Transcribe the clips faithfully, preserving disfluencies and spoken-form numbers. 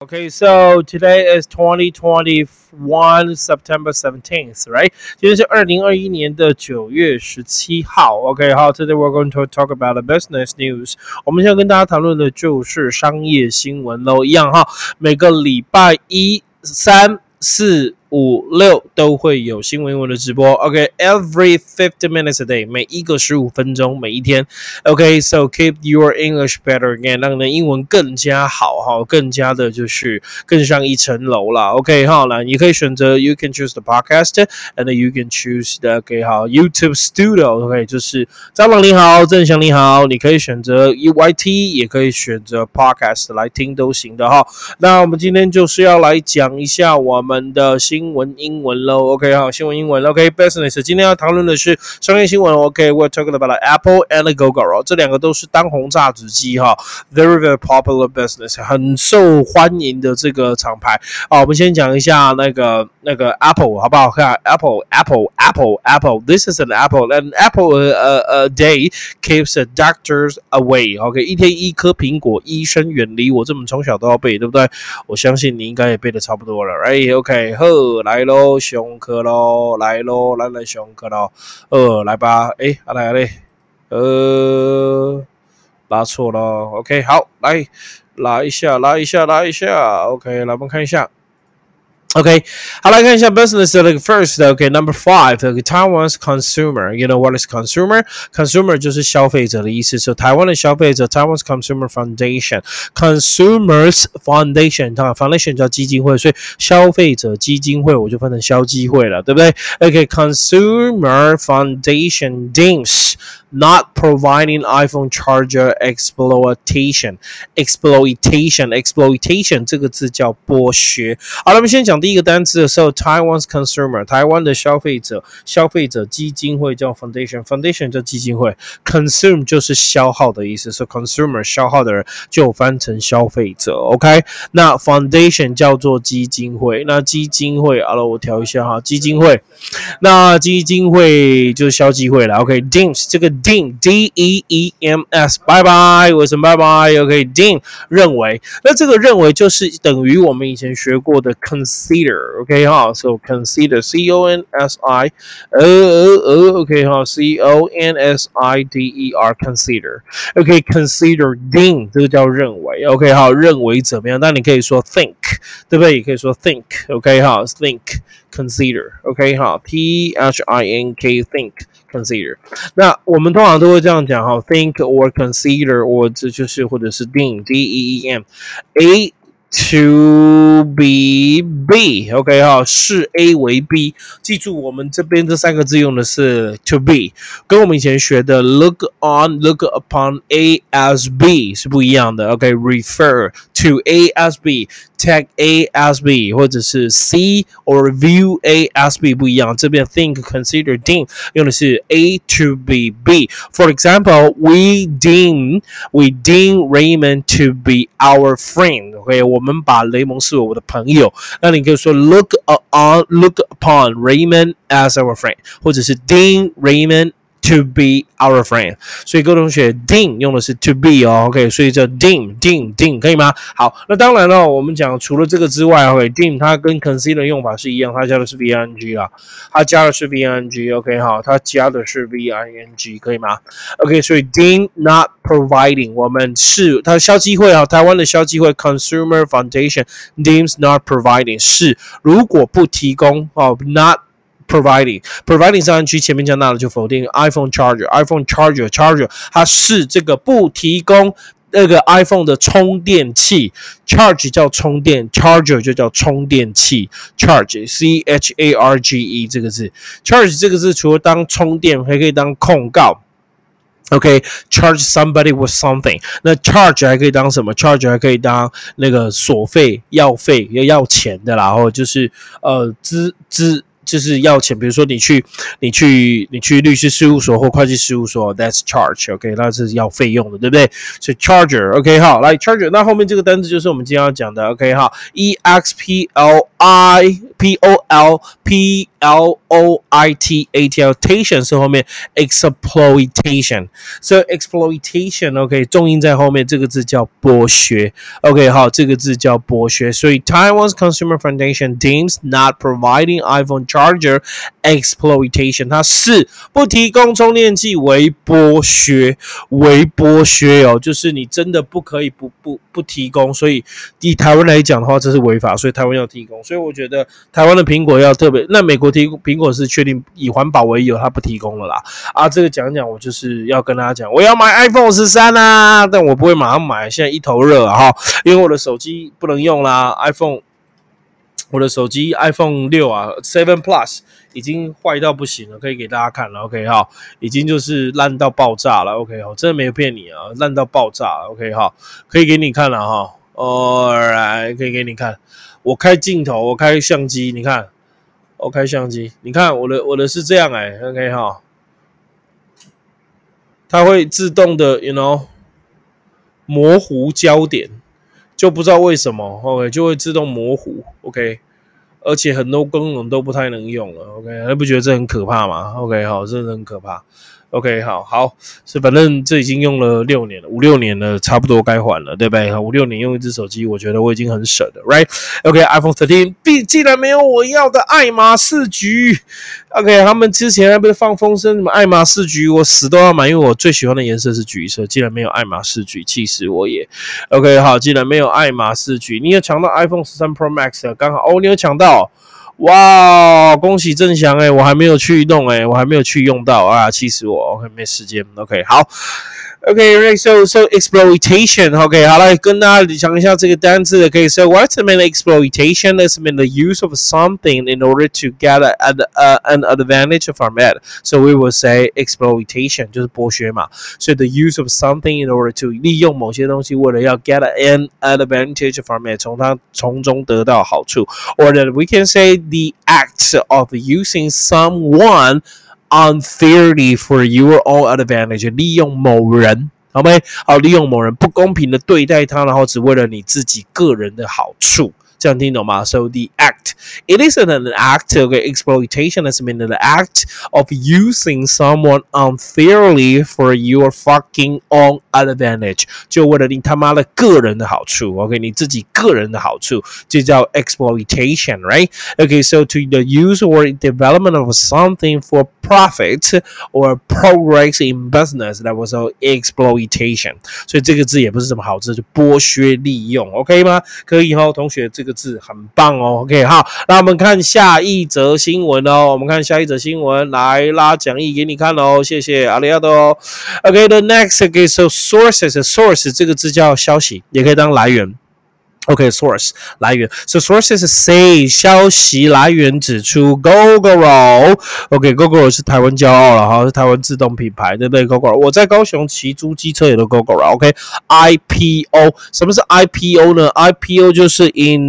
Okay, so today is twenty twenty-one September seventeenth, right? 今天是二零二一年的九月十七号。OK， 好 ，Today we're going to talk about the business news。我们现在跟大家谈论的就是商业新闻喽，一样哈，每个礼拜一、三、四、五、六都会有新闻英文的直播。OK，every、okay, fifty minutes a day， 每一个十五分钟，每一天。OK，so、okay, keep your English better again， 让你的英文更加好哈，更加的就是更上一层楼啦。OK， 好了，你可以选择 you can choose the podcast，and then you can choose the OK 好 YouTube Studio。OK， 就是张朗你好，郑翔你好，你可以选择 U Y T， 也可以选择 podcast 来听都行的哈。那我们今天就是要来讲一下我们的新新闻英文咯 OK 好，新闻英文 OK business 今天要讨论的是商业新闻 OK we're talking about Apple and Gogoro 这两个都是当红炸子鸡哈 very very popular business 很受欢迎的这个厂牌好，我们先讲一下那个那个 Apple 好不好看 Apple Apple Apple Apple this is an Apple and Apple a, a day keeps the doctors away OK 一天一颗苹果医生远离我这么从小都要背对不对我相信你应该也背得差不多了 right OK 好来咯上课咯来咯咱来上课咯呃来吧诶啊来嘞呃拉错了 OK 好来拉一下拉一下拉一下 OK 来我们看一下Okay, 好来看一下 business like first, okay, number five, okay, Taiwan's consumer. You know what is consumer? Consumer 就是消费者的意思。So 台湾的消费者 Taiwan's Consumer Foundation. Consumers Foundation, Foundation 叫基金会，所以消费者基金会我就分成消基会了，对不对 ？Okay, Consumer Foundation deems not providing iPhone charger exploitation. Exploitation, exploitation 这个字叫剥削。好了，我们先讲第一个单词的时候 Taiwan's consumer 台湾的消费者消费者基金会叫 foundation foundation 叫基金会 consume 就是消耗的意思所以 consumer 消耗的人就翻成消费者 OK 那 foundation 叫做基金会那基金会好了我调一下哈基金会那基金会就是消基会了 OK deems 这个 deem D E E M S 拜拜为什么拜拜 OK deem 认为那这个认为就是等于我们以前学过的 consider OK 哈 so consider C O N S I 呃呃呃 OK 哈 C O N S I D E R consider OK consider deem 这个叫认为 OK 好认为怎么样但你可以说 think 对不对也可以说 think OK 好 think consider OK 好 T H I N K think consider 那我们通常都会这样讲哈 think or consider or 这就是或者是 deem D E E M A to be B OK 哈视 A 为 B 记住我们这边这三个字用的是 to be 跟我们以前学的 look on look upon A as B 是不一样的 OK refer to A as B tag A as B 或者是 see or view A as B 不一样这边 think consider deem 用的是 A to be B for example we deem we deem Raymond to be our friend OK 我们把雷蒙视为我的朋友那你可以说 look on look upon Raymond as our friend 或者是 deem Raymond to be our friend 所以各位同学 deem 用的是 to be 哦 OK 所以叫 deem deem deem 可以吗好那当然了我们讲除了这个之外 OK deem 它跟 consider 用法是一样它加的是 V I N G 啦它加的是 V I N G OK 好它加的是 V I N G 可以吗 OK 所以 deem not providing 我们是它的消基会啊台湾的消基会 Consumer Foundation deems not providing 是如果不提供哦 not providing providing 上去前面加那了就否定 iPhone charger iPhone charger charger 它是这个不提供那个 iPhone 的充电器 charge 叫充电 charger 就叫充电器 charge C H A R G E 这个字 charge 这个字除了当充电还可以当控告OK, charge somebody with something. 那 charge 还可以当什么 ？charge 还可以当那个索费、要费、要要钱的啦，或就是呃资资。就是要钱，比如说你去你去你去律师事务所或会计事务所 ，that's charge，OK，、okay? 那是要费用的，对不对？所以 charger，OK，、okay, 好，来 charger， 那后面这个单词就是我们今天要讲的 ，OK， 好 ，E X P L I P O L P L O I T A T L，tation 是后面 exploitation， 所以 exploitation，OK， 重音在后面，这个字叫剥削 ，OK， 好，这个字叫剥削，所以 Taiwan's Consumer Foundation deems not providing iPhone charger exploitation， 它是不提供充电器为剥削，为剥削哦，就是你真的不可以不不不提供，所以以台湾来讲的话，这是违法，所以台湾要提供，所以我觉得台湾的苹果要特别，那美国提供苹果是确定以环保为由，它不提供了啦。啊，这个讲讲，我就是要跟大家讲，我要买 iPhone 十三啊，但我不会马上买，现在一头热啊，因为我的手机不能用啦 ，iPhone。我的手机 iPhone 六啊 seven Plus 已经坏到不行了，可以给大家看了 ，OK 哈，已经就是烂到爆炸了 ，OK 哈，真的没有骗你啊，烂到爆炸了 ，OK 哈，可以给你看了哈 ，Alright， 可以给你看，我开镜头，我开相机，你看，我开相机，你看我的我的是这样哎、欸、，OK 哈，它会自动的 ，you know， 模糊焦点。就不知道为什么 ，OK， 就会自动模糊 ，OK， 而且很多功能都不太能用了 ，OK， 你不觉得这很可怕吗 ？OK， 好，真的很可怕 ，OK， 好，好，是反正这已经用了六年了，五六年了，差不多该换了，对不对？五六年用一只手机，我觉得我已经很省了 ，Right？OK，iPhone、okay, 十三，既然没有我要的爱马仕橘 ，OK， 他们之前还不是放风声什么爱马仕橘，我死都要买，因为我最喜欢的颜色是橘色，既然没有爱马仕橘，气死我也。OK， 好，既然没有爱马仕橘，你有抢到 iPhone 十三 Pro Max 刚好哦，你有抢到。哇，恭喜郑翔哎，我还没有去弄哎，我还没有去用到啊，气死我 ！OK， 没时间 ，OK， 好 ，OK，right， so so exploitation，OK， 好来跟大家讲一下这个单字的，可以 ，so what's the mean exploitation? It's mean the use of something in order to get a, a, a, an advantage from it. So we will say exploitation 就是剥削嘛，所以 the use of something in order to 利用某些东西，为了要 get an advantage from it， 从它从中得到好处 ，or that we can say the act of using someone unfairly for your own advantage， 利用某人，好没？好，利用某人不公平的对待他，然后只为了你自己个人的好处。这样听懂吗 ？So the act, it isn't an act. Okay, exploitation is mean the act of using someone unfairly for your fucking own advantage. 就为了你他妈的个人的好处 ，OK， 你自己个人的好处，就叫 exploitation, right? Okay, so to the use or development of something for profit or progress in business, that was exploitation. 所以这个字也不是什么好字，就剥削利用 ，OK 吗？可以哈，同学，这个字很棒哦 ，OK 好，那我们看下一则新闻哦，我们看下一则新闻，来拉讲义给你看哦，谢谢阿里亚多 ，OK，the next okay, so sources source 这个字叫消息，也可以当来源。OK, source 来源 ，so sources say 消息来源指出 Gogoro OK, Gogoro 是台湾骄傲了哈，是台湾自动品牌，对不对 ？Gogoro 我在高雄骑租机车有的 Gogoro OK, I P O 什么是 I P O 呢 ？I P O 就是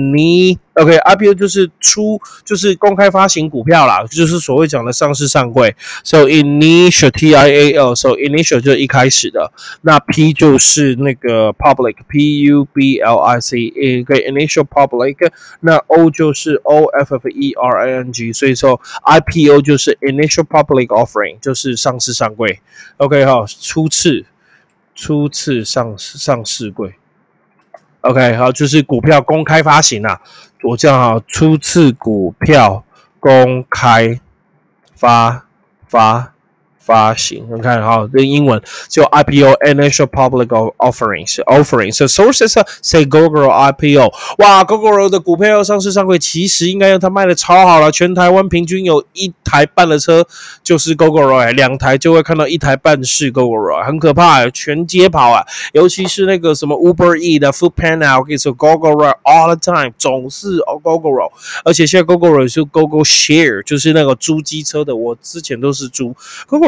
in OK，I P O 就是出就是公开发行股票啦，就是所谓讲的上市上柜。So initial T I A L，so initial 就是一开始的，那 P 就是那个 public P U B L I C， 一个 initial public， 那 O 就是 O F F E R I N G， 所以说 I P O 就是 initial public offering， 就是上市上柜。OK 好，初次初次上上市柜。OK 好，就是股票公开发行啊。我这样好，初次股票公开发发发行，你看哈，这英文就 I P O Initial Public Offerings Offering。So sources say Gogoro I P O， 哇 ，Gogoro 的股票要上市上柜，其实应该让它卖的超好了，全台湾平均有一台半的车就是 Gogoro， 哎，两台就会看到一台半是 Gogoro， 很可怕、欸，全街跑啊，尤其是那个什么 Uber E 的 Foodpanda， OK， so Gogoro all the time， 总是 Gogoro， 而且现在 Gogoro 是 Gogo Share， 就是那个租机车的，我之前都是租 Gogoro。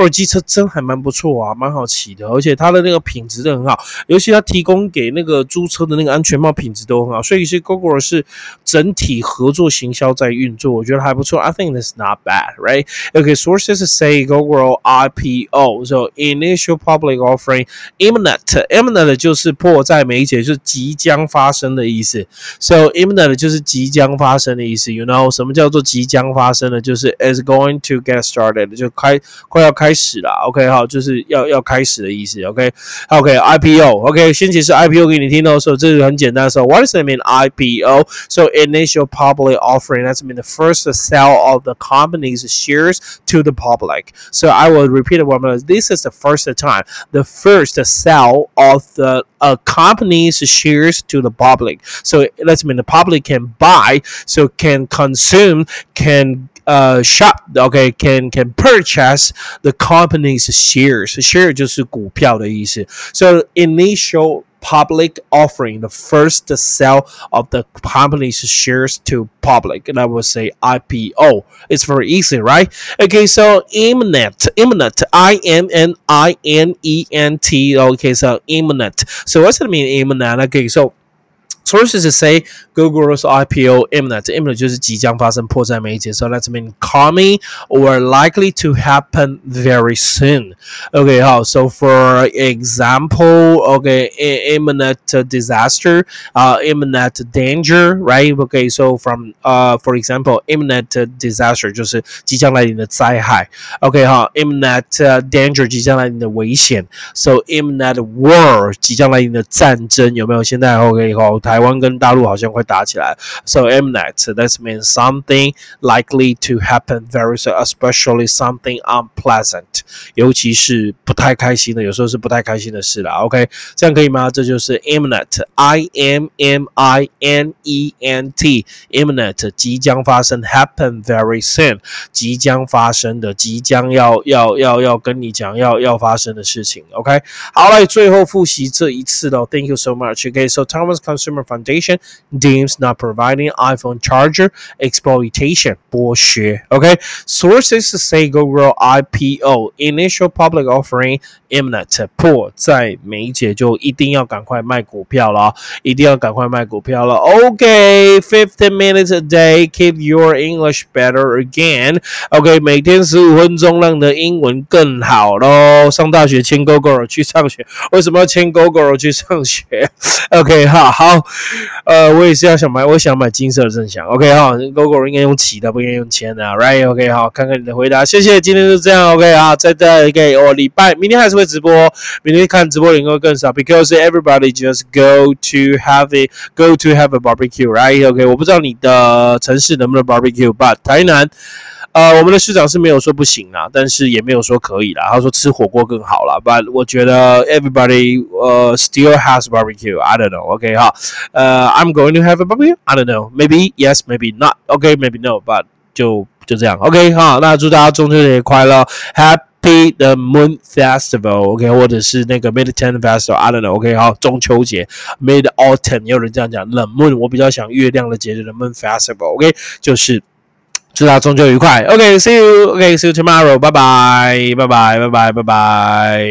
机车真还蛮不错啊，蛮好骑的，而且它的那个品质都很好，尤其它提供给那个租车的那个安全帽品质都很好，所以是 Gogoro 是整体合作行销在运作，我觉得还不错。I think that's not bad, right? Okay, sources say Gogoro I P O, so initial public offering imminent. Imminent 就是迫在眉睫，就是即将发生的意思。So imminent 就是即将发生的意思。You know 什么叫做即将发生的？就是 is going to get started， 就开快要开始了。OK， 好，就是要要开始的意思。OK，OK，I P O。OK， 先解释 I P O 给你听到的时候，这是很简单的时候。What does it mean I P O? So initial public offering. That's mean the first sale of the company's shares to the public. So I will repeat it one more. This is the first time, the first sale of the a company's shares to the public. So let's mean the public can buy, so can consume, can uh shop, okay, can can purchase the company's shares. Share 就是股票的意思。So initial public offering, the first sale of the company's shares to public, and I would say I P O. It's very easy, right? Okay, so imminent, imminent, I M N I N E N T. Okay, so imminent. So what's it mean, imminent? Okay, so sources say Gogoro's I P O imminent. Imminent 就是即将发生，迫在眉睫。So that's mean coming or likely to happen very soon. Okay, 好 so for example, okay, imminent disaster, uh, imminent danger, right? Okay, so from uh, for example, imminent disaster 就是即将来临的灾害。Okay, 好 imminent danger 即将来临的危险。So imminent war 即将来临的战争，有没有？现在 OK 好，台湾跟大陆好像快打起来。So imminent, that means something likely to happen very soon, especially something unpleasant. 尤其是不太开心的，有时候是不太开心的事啦。OK， 这样可以吗？这就是 imminent, I M M I N E N T, imminent 即将发生 happen very soon 即将发生的，即将要要要要跟你讲要要发生的事情。OK， 好，来最后复习这一次的。Thank you so much. Okay, so Taiwan's Consumer Foundation deems not providing iPhone charger exploitation 剥削。Okay, sources say Gogoro I P O initial public offering imminent 迫在眉睫，就一定要赶快卖股票了，一定要赶快卖股票了。Okay, fifteen minutes a day, keep your English better again. Okay, 每天十五分钟，让你的英文更好咯。上大学签 Gogoro 去上学，为什么要签 Gogoro 去上学 ？OK， 好好，呃，我也是要想买，我想买金色的正向。OK， 好 ，Gogoro 应该用骑的，不应该用签的 ，Right？OK， 好，看看你的回答，谢谢，今天就这样 ，OK， 好，再再 OK， 我礼拜明天还是会直播，明天看直播的人会更少 ，because everybody just go to have a go to have a barbecue，Right？OK， 我不知道你的城市能不能 barbecue，but 台南。呃，我们的市长是没有说不行啦，但是也没有说可以啦。他说吃火锅更好啦 ，but 我觉得 everybody 呃、uh, still has barbecue. I don't know. OK 哈，呃、uh, ，I'm going to have a barbecue. I don't know. Maybe yes, maybe not. OK, maybe no. But 就就这样。OK 哈，那祝大家中秋节快乐 ，Happy the Moon Festival. OK， 或者是那个 Mid Autumn Festival. I don't know. OK 好，中秋节 Mid Autumn 也有人这样讲，冷 Moon 我比较想月亮的节日的 Moon Festival. OK 就是。祝大家中秋愉快 ！OK，see you，OK，see you tomorrow， 拜拜，拜拜，拜拜，拜拜。